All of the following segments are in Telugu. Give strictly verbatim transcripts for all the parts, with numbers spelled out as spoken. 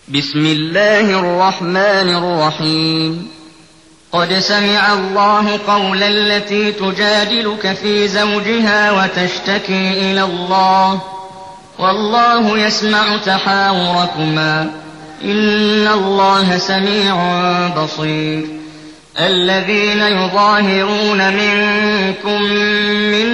بسم الله الرحمن الرحيم قد سمع الله قول التي تجادلك في زوجها وتشتكي إلى الله والله يسمع تحاوركما إن الله سميع بصير الذين يظاهرون منكم من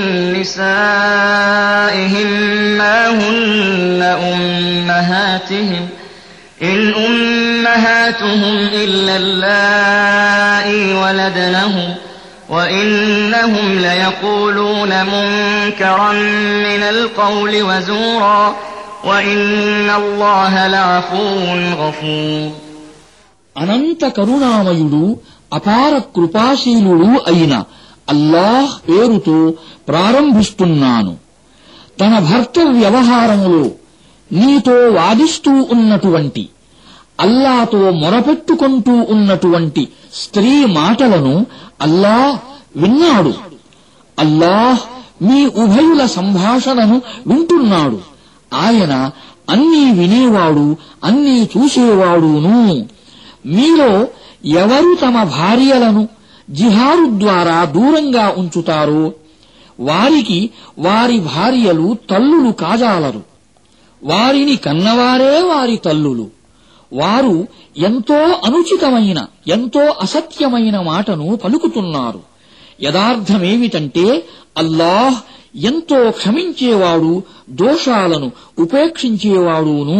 نسائهم ما هن أمهاتهم إن أمهاتهم إلا اللائي ولدنهم وإنهم ليقولون منكرا من القول وزورا وإن الله لعفو غفور అనంత కరుణామయుడు అపార కృపాశీలుడు అయిన అల్లాహ్ పేరుతో ప్రారంభిస్తున్నాను. తన భర్త వ్యవహారములో నీతో వాదిస్తూ ఉన్నటువంటి, అల్లాతో మొరపెట్టుకుంటూ ఉన్నటువంటి స్త్రీ మాటలను అల్లాహ్ విన్నాడు. అల్లాహ్ మీ ఉభయుల సంభాషణను వింటున్నాడు. ఆయన అన్నీ వినేవాడు, అన్నీ చూసేవాడును. మీలో ఎవరు తమ భార్యలను జిహాదు ద్వారా దూరంగా ఉంచుతారో వారికి వారి భార్యలు తల్లులు కాజాలరు. వారిని కన్నవారే వారి తల్లులు. వారు ఎంతో అనుచితమైన, ఎంతో అసత్యమైన మాటను పలుకుతున్నారు. యదార్థమేమిటంటే అల్లాహ్ ఎంతో క్షమించేవాడు, దోషాలను ఉపేక్షించేవాడును.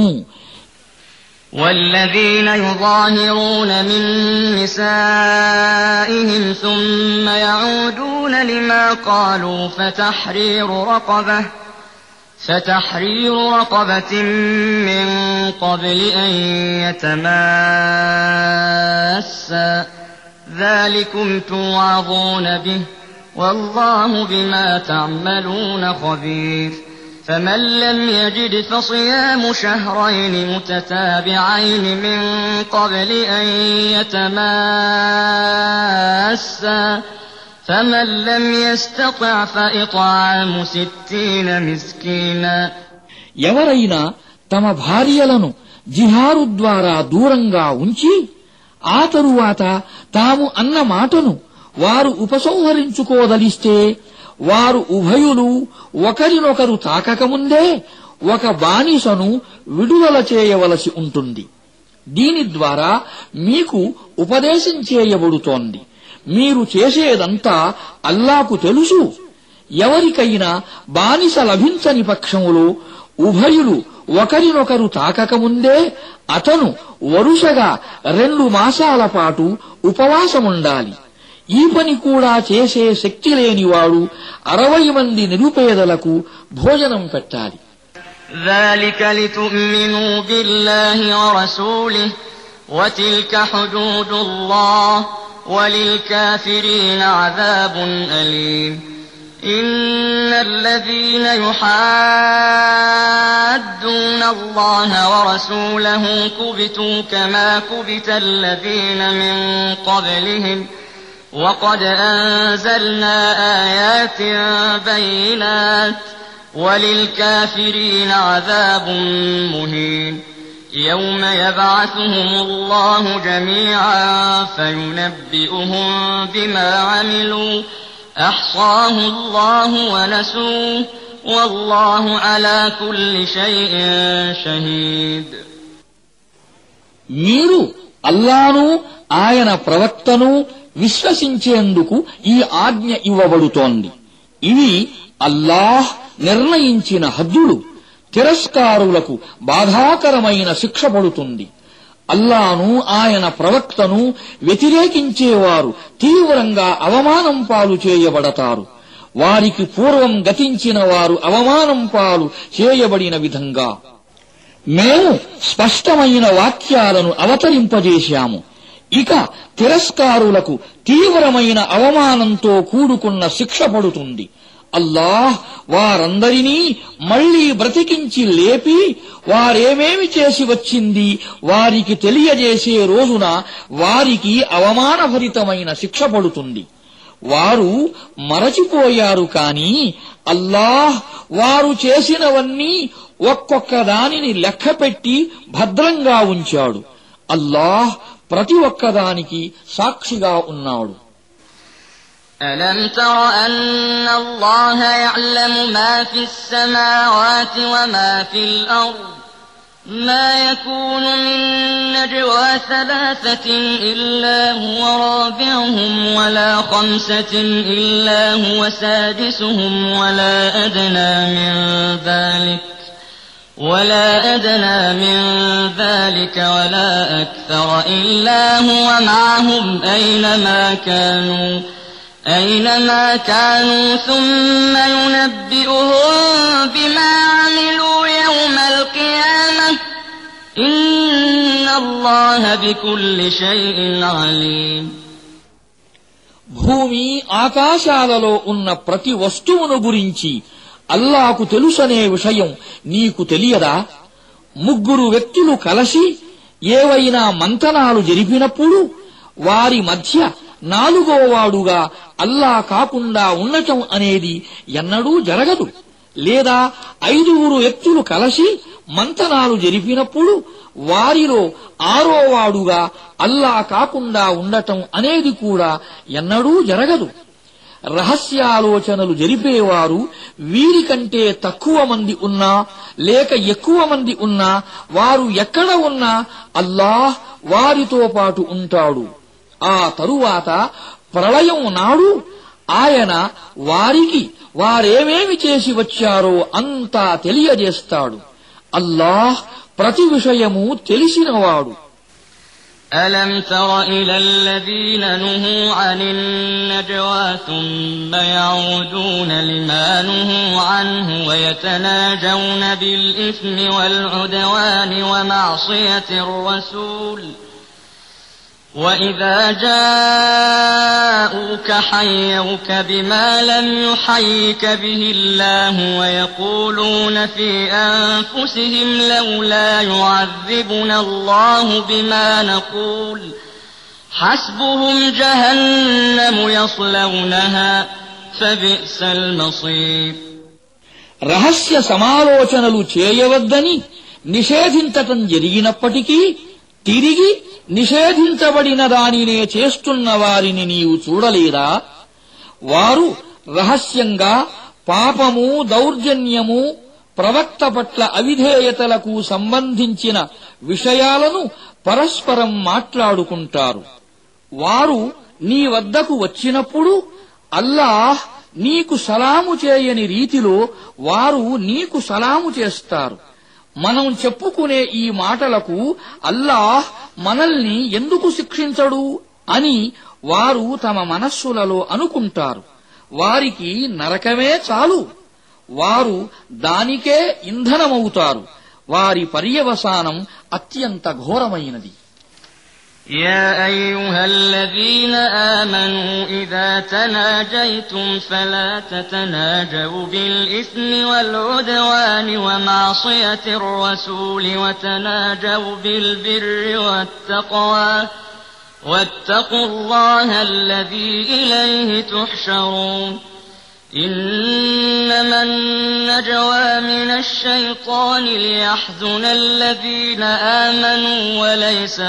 والذين يظاهرون من نسائهم ثم يعودون لما قالوا فتحرير رقبة فتحرير رقبة من قبل أن يتماسا ذلكم توعظون به والله بما تعملون خبير فمن لم يجد فصيام شهرين متتابعين من قبل أن يتماسا فمن لم يستطع فإطعام ستين مسكينا ఎవరైనా తమ భార్యలను జిహారు ద్వారా దూరంగా ఉంచి ఆ తరువాత తాము అన్న మాటను వారు ఉపసంహరించుకోదలిస్తే వారు ఉభయులు ఒకరినొకరు తాకకముందే ఒక బానిసను విడుదల చేయవలసి ఉంటుంది. దీని ద్వారా మీకు ఉపదేశం చేయబడుతోంది. మీరు చేసేదంతా అల్లాకు తెలుసు. ఎవరికైనా బానిస లభించని పక్షములో ఉభయులు ఒకరినొకరు తాకకముందే అతను వరుసగా రెండు మాసాల పాటు ఉపవాసముండాలి. ఈ పని కూడా చేసే శక్తి లేనివాడు అరవై మంది నిరుపేదలకు భోజనం పెట్టాలి. ذلك لتؤمنوا بالله ورسوله وتلك حدود الله وللكافرين عذاب أليم إن الذين يحادون الله ورسوله كبتوا كما كبت الذين من قبلهم وقد أنزلنا آيات بينات وللكافرين عذاب مهين يوم يبعثهم الله جميعا فينبئهم بما عملوا أحصاه الله ونسوه والله على كل شيء شهيد మీరు అల్లాను ఆయన ప్రవక్తను విశ్వసించేందుకు ఈ ఆజ్ఞ ఇవ్వబడుతోంది. ఇవి అల్లాహ్ నిర్ణయించిన హద్దులు. తిరస్కారులకు బాధాకరమైన శిక్ష పడుతుంది. అల్లాను ఆయన ప్రవక్తను వ్యతిరేకించేవారు తీవ్రంగా అవమానం పాలు చేయబడతారు. వారికి పూర్వం గతించిన వారు అవమానం పాలు చేయబడిన విధంగా మేము స్పష్టమైన వాక్యాలను అవతరింపజేశాము. ఇక తిరస్కారులకు తీవ్రమైన అవమానంతో కూడుకున్న శిక్ష పడుతుంది. అల్లాహ్ వారందరినీ మళ్లీ బ్రతికించి లేపి వారేమేమి చేసి వచ్చింది వారికి తెలియజేసే రోజున వారికి అవమానభరితమైన శిక్ష పడుతుంది. వారు మరచిపోయారు కాని అల్లాహ్ వారు చేసినవన్నీ ఒక్కొక్క దానిని లెక్కపెట్టి భద్రంగా ఉంచాడు. అల్లాహ్ ప్రతి ఒక్కదానికి సాక్షిగా ఉన్నాడు. ألم تر أن الله يعلم ما في السماوات وما في الأرض ما يكون من نجوى ثلاثة إلا هو رابعهم ولا خمسة إلا هو سادسهم ولا أدنى من ذلك ولا أدنى من ذلك ولا أكثر إلا هو معهم أينما كانوا أينما كانوا ثم ينبئهم بما عملوا يوم القيامة إن الله بكل شيء عليم. భూమి ఆకాశాలలో ఉన్న ప్రతి వస్తువును గురించి అల్లాహకు తెలుసనే విషయం నీకు తెలియదా? ముగ్గురు వ్యక్తులు కలసి ఏవైనా మంతనాలు జరిపినప్పుడు వారి మధ్య నాలుగోవాడుగా అల్లా కాకుండా ఉండటం అనేది ఎన్నడూ జరగదు. లేదా ఐదుగురు వ్యక్తులు కలసి మంతనాలు జరిపినప్పుడు వారిలో ఆరోవాడుగా అల్లా కాకుండా ఉండటం అనేది కూడా ఎన్నడూ జరగదు. రహస్యాలోచనలు జరిపేవారు వీరికంటే తక్కువ మంది ఉన్నా లేక ఎక్కువ మంది ఉన్నా వారు ఎక్కడ ఉన్నా అల్లాహ్ వారితో పాటు ఉంటాడు. ఆ తరువాత ప్రళయం నాడు ఆయన వారికి వారేమేమి చేసి వచ్చారో అంతా తెలియజేస్తాడు. అల్లాహ్ ప్రతి విషయము తెలిసినవాడు. ألم تر إلى الذين نهوا عن النجوى ثم يعودون لما نهوا عنه ويتناجون بالإثم والعدوان ومعصية الرسول وإذا جاءوك حيوك بما لم يحيك به الله ويقولون في أنفسهم لولا يعذبنا الله بما نقول حسبهم جهنم يصلونها فبئس المصير. రహస్య సమాలోచనలు చేయవద్దని నిషేధించటం జరిగినప్పటికీ తిరిగి నిషేధించబడిన దానినే చేస్తున్న వారిని నీవు చూడలేదా? వారు రహస్యంగా పాపము, దౌర్జన్యము, ప్రవక్త పట్ల అవిధేయతలకు సంబంధించిన విషయాలను పరస్పరం మాట్లాడుకుంటారు. వారు నీ వద్దకు వచ్చినప్పుడు అల్లాహ్ నీకు సలాము చేయని రీతిలో వారు నీకు సలాము చేస్తారు. మనం చెప్పుకునే ఈ మాటలకు అల్లాహ్ మనల్ని ఎందుకు శిక్షించడు అని వారు తమ మనస్సులలో అనుకుంటారు. వారికి నరకమే చాలు, వారు దానికే ఇంధనమవుతారు. వారి పర్యవసానం అత్యంత ఘోరమైనది. يا أيها الذين آمنوا إذا تناجيتم فلا تتناجوا بالإثم والعدوان ومعصية الرسول وتناجوا بالبر والتقوى واتقوا الله الذي إليه تحشرون. إنما النجوى من الشيطان ليحزن الذين آمنوا وليس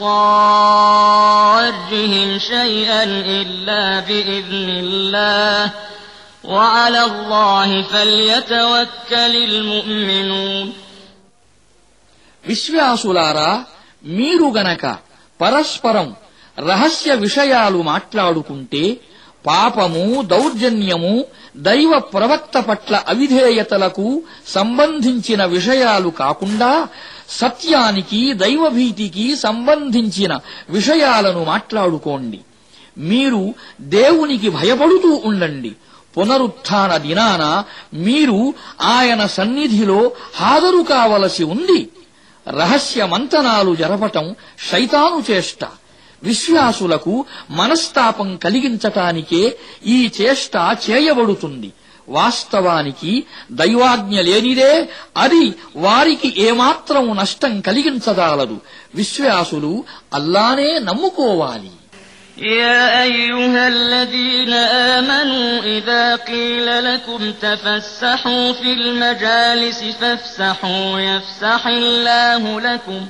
بضارهم شيئا إلا بإذن الله وعلى الله فليتوكل المؤمنون. విశ్వాసులారా, మీరు గనక పరస్పరం రహస్య విషయాలు మాట్లాడుకుంటే పాపము, దౌర్జన్యము, దైవ ప్రవక్త పట్ల అవిధేయతలకు సంబంధించిన విషయాలు కాకుండా సత్యానికి, దైవభీతికి సంబంధించిన విషయాలను మాట్లాడుకోండి. మీరు దేవునికి భయపడుతూ ఉండండి. పునరుత్థాన దినాన మీరు ఆయన సన్నిధిలో హాజరు కావలసి ఉంది. రహస్య మంతనాలు జరపటం శైతాను చేష్ట. విశ్వాసులకు మనస్తాపం కలిగించటానికే ఈ చేష్ట చేయబడుతుంది. వాస్తవానికి దైవాజ్ఞ లేనిదే అది వారికి ఏమాత్రం నష్టం కలిగించదాలదు. విశ్వాసులు అల్లానే నమ్ముకోవాలి. يا أيها الذين آمنوا إذا قيل لكم تفسحوا في المجالس فافسحوا يفسح الله لكم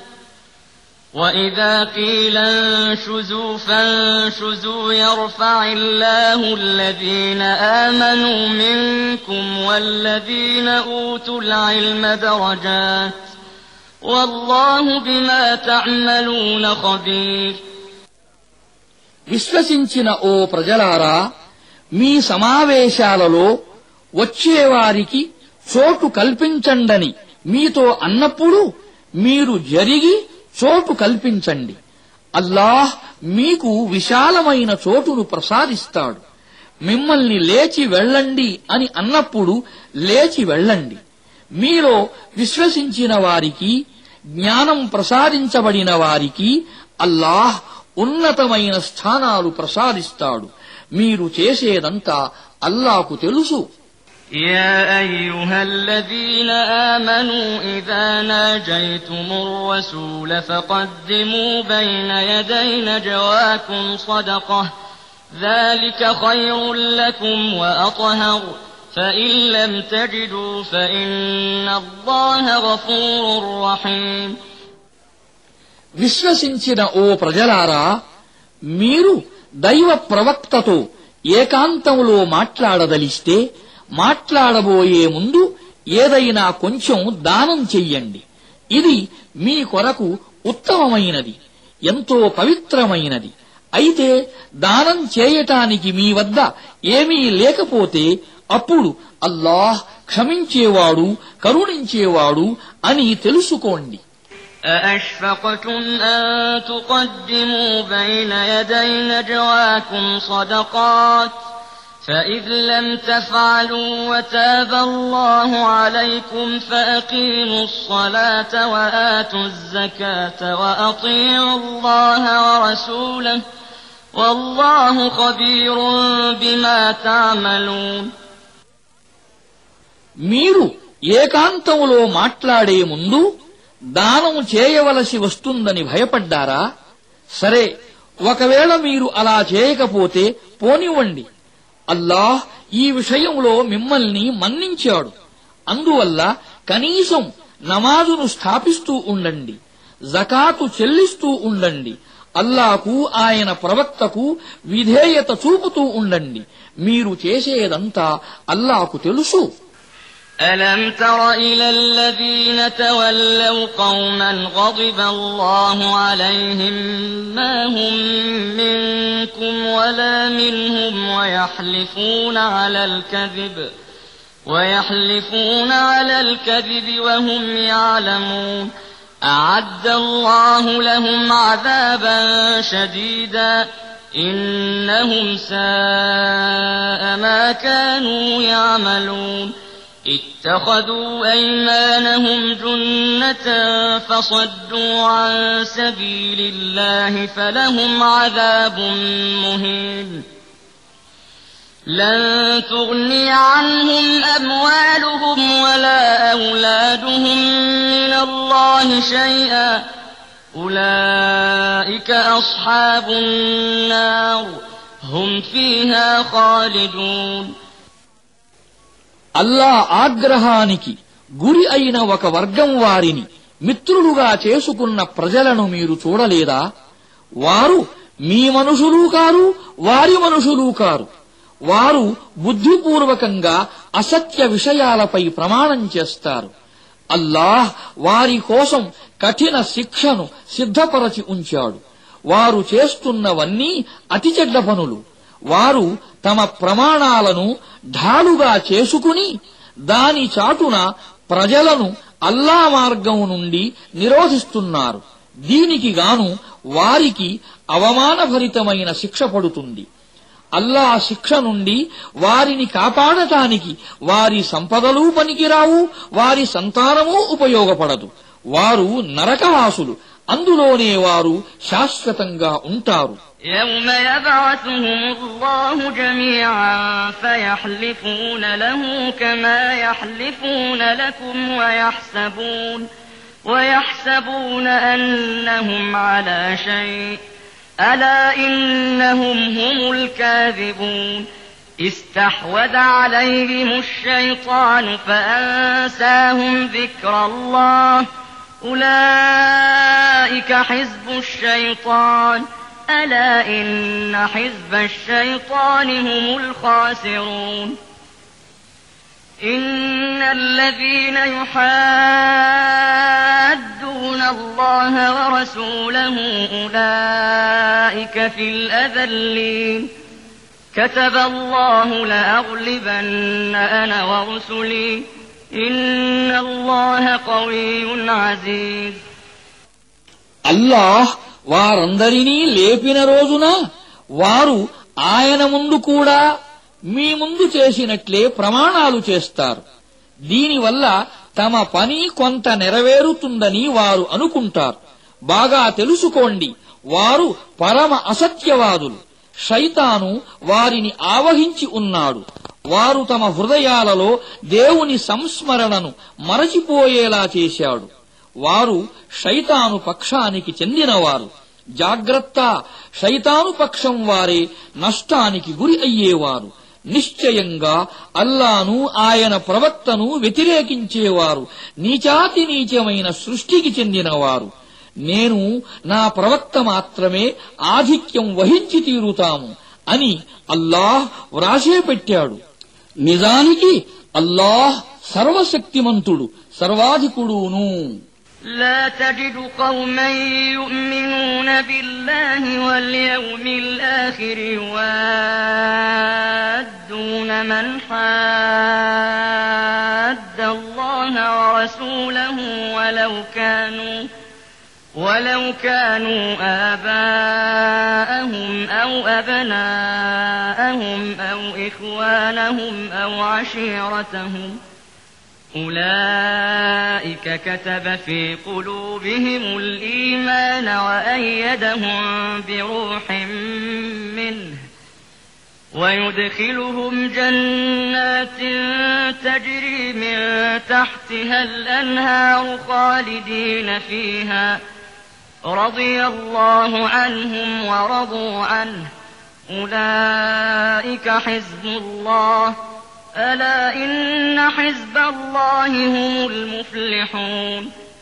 وإذا قيل انشزوا فانشزوا يرفع الله الذين آمنوا منكم والذين أوتوا العلم درجات والله بما تعملون خبير. విశ్వసించిన ఓ ప్రజలారా, మీ సమావేశాలలో వచ్చేవారికి చోటు కల్పించండని మీతో అన్నప్పుడు మీరు జరిగి చోటు కల్పించండి. అల్లాహ్ మీకు విశాలమైన చోటును ప్రసాదిస్తాడు. మిమ్మల్ని లేచి వెళ్ళండి అని అన్నప్పుడు లేచి వెళ్ళండి. మీలో విశ్వసించిన వారికి, జ్ఞానం ప్రసాదించబడిన వారికి అల్లాహ్ ఉన్నతమైన స్థానాలు ప్రసాదిస్తాడు. మీరు చేసేదంతా అల్లాహ్కు తెలుసు. يا أيها الذين آمنوا إذا ناجيتم الرسول فقدموا بين يدي نجواكم صدقة ذلك خير لكم وأطهر فإن لم تجدوا فإن الله غفور رحيم. విశ్వసించిన ఓ ప్రజలారా, మీరు దైవ ప్రవక్తతో ఏకాంతంలో మాట్లాడదలిస్తే మాట్లాడబోయే ముందు ఏదైనా కొంచెం దానం చెయ్యండి. ఇది మీ కొరకు ఉత్తమమైనది, ఎంతో పవిత్రమైనది. అయితే దానం చేయటానికి మీ వద్ద ఏమీ లేకపోతే అప్పుడు అల్లాహ్ క్షమించేవాడు, కరుణించేవాడు అని తెలుసుకోండి. أأشفقتم أن تقدموا بين يدي نجواكم صدقات فإذ لم تفعلوا وتاب الله عليكم فأقيموا الصلاة وآتوا الزكاة وأطيعوا الله ورسوله والله خبير بما تعملون. మీరు ఏకాంతంలో మాట్లాడే ముందు దానం చేయవలసి వస్తుందని భయపడ్డారా? సరే, ఒకవేళ మీరు అలా చేయకపోతే పోనివ్వండి. అల్లాహ్ ఈ విషయంలో మిమ్మల్ని మన్నించాడు. అందువల్ల కనీసం నమాజును స్థాపిస్తూ ఉండండి, జకాతు చెల్లిస్తూ ఉండండి, అల్లాహకు ఆయన ప్రవక్తకు విధేయత చూపుతూ ఉండండి. మీరు చేసేదంతా అల్లాహకు తెలుసు. ألم تر إلى الذين تولوا قوما غضب الله عليهم ما هم منكم ولا منهم ويحلفون على الكذب ويحلفون على الكذب وهم يعلمون أعد الله لهم عذابا شديدا إنهم ساء ما كانوا يعملون اتخذوا أيمانهم جنة فصدوا عن سبيل الله فلهم عذاب مهين لن تغني عنهم أموالهم ولا أولادهم من الله شيئا أولئك أصحاب النار هم فيها خالدون. అల్లా ఆగ్రహానికి గురి అయిన ఒక వర్గం వారిని మిత్రులుగా చేసుకున్న ప్రజలను మీరు చూడలేదా? వారు మీ మనుషులు కారు, వారి మనుషులు కారు. వారు బుద్ధిపూర్వకంగా అసత్య విషయాలపై ప్రమాణం చేస్తారు. అల్లాహ్ వారి కోసం కఠిన శిక్షను సిద్ధపరచి ఉంచాడు. వారు చేస్తున్నవన్నీ అతి చెడ్డ పనులు. వారు తమ ప్రమాణాలను ఢాలుగా చేసుకుని దాని చాటున ప్రజలను అల్లా మార్గం నుండి నిరోధిస్తున్నారు. దీనికి గాను వారికి అవమానభరితమైన శిక్ష పడుతుంది. అల్లా శిక్ష నుండి వారిని కాపాడటానికి వారి సంపదలు పనికిరావు, వారి సంతానమూ ఉపయోగపడదు. వారు నరకవాసులు, అందులోనే వారు శాశ్వతంగా ఉంటారు. يوم يبعثهم الله جميعا فيحلفون له كما يحلفون لكم ويحسبون ويحسبون أنهم على شيء ألا إنهم هم الكاذبون استحوذ عليهم الشيطان فأنساهم ذكر الله أولئك حزب الشيطان ألا إن حزب الشيطان هم الخاسرون إن الذين يحادون الله ورسوله أولئك في الأذلين كتب الله لأغلبن أنا ورسلي إن الله قوي عزيز. అల్లాహ్ వారందరినీ లేపిన రోజున వారు ఆయన ముందు కూడా మీ ముందు చేసినట్లే ప్రమాణాలు చేస్తారు. దీనివల్ల తమ పని కొంత నెరవేరుతుందని వారు అనుకుంటారు. బాగా తెలుసుకోండి, వారు పరమ అసత్యవాదులు. శైతాను వారిని ఆవహించి ఉన్నాడు. వారు తమ హృదయాలలో దేవుని సంస్మరణను మరచిపోయేలా చేశాడు. వారు శైతాను పక్షానికి చెందినవారు. జాగ్రత్త, శైతాను పక్షం వారే నష్టానికి గురి అయ్యేవారు. నిశ్చయంగా అల్లాను ఆయన ప్రవక్తను వ్యతిరేకించేవారు నీచాతి నీచమైన సృష్టికి చెందినవారు. నేను నా ప్రవక్త మాత్రమే ఆధిక్యం వహించి తీరుతాము అని అల్లాహ్ వ్రాసే పెట్టాడు. నిజానికి అల్లాహ్ సర్వశక్తిమంతుడు, సర్వాధికుడును. لا تجد قوما يؤمنون بالله واليوم الآخر يوادون من حاد الله ورسوله ولو كانوا ولو كانوا آباءهم أو أبناءهم أو إخوانهم أو عشيرتهم أولئك كتب في قلوبهم الإيمان وأيدهم بروح منه ويدخلهم جنات تجري من تحتها الأنهار خالدين فيها رضي الله عنهم ورضوا عنه أولئك حزب الله ألا إن حزب الله هم المفلحون.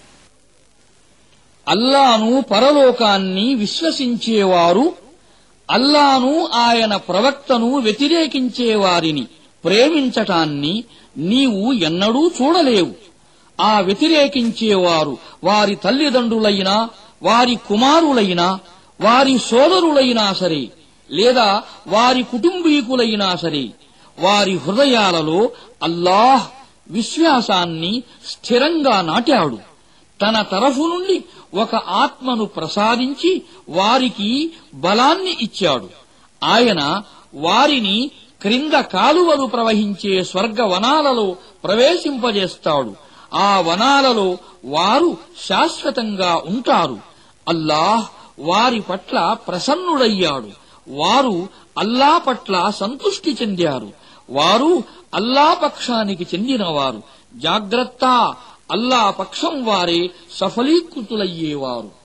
అల్లాను పరలోకాన్ని విశ్వసించేవారు అల్లాను ఆయన ప్రవక్తను వ్యతిరేకించేవారిని ప్రేమించటాన్ని నీవు ఎన్నడూ చూడలేవు. ఆ వ్యతిరేకించేవారు వారి తల్లిదండ్రులైనా, వారి కుమారులైనా, వారి సోదరులైనా సరే, లేదా వారి కుటుంబీకులైనా సరే, వారి హృదయాలలో అల్లాహ్ విశ్వాసాన్ని స్థిరంగా నాటాడు. తన తరఫు నుండి ఒక ఆత్మను ప్రసాదించి వారికి బలాన్ని ఇచ్చాడు. ఆయన వారిని క్రింద కాలువలు ప్రవహించే స్వర్గ వనాలలో ప్రవేశింపజేస్తాడు. ఆ వనాలలో వారు శాశ్వతంగా ఉంటారు. అల్లాహ్ వారి పట్ల ప్రసన్నుడయ్యాడు. వారు అల్లా పట్ల సంతృష్టి చెందారు. వారు అల్లా పక్షానికి చెందినవారు. జాగ్రత్త, అల్లా పక్షం వారే సఫలీకృతులయ్యేవారు.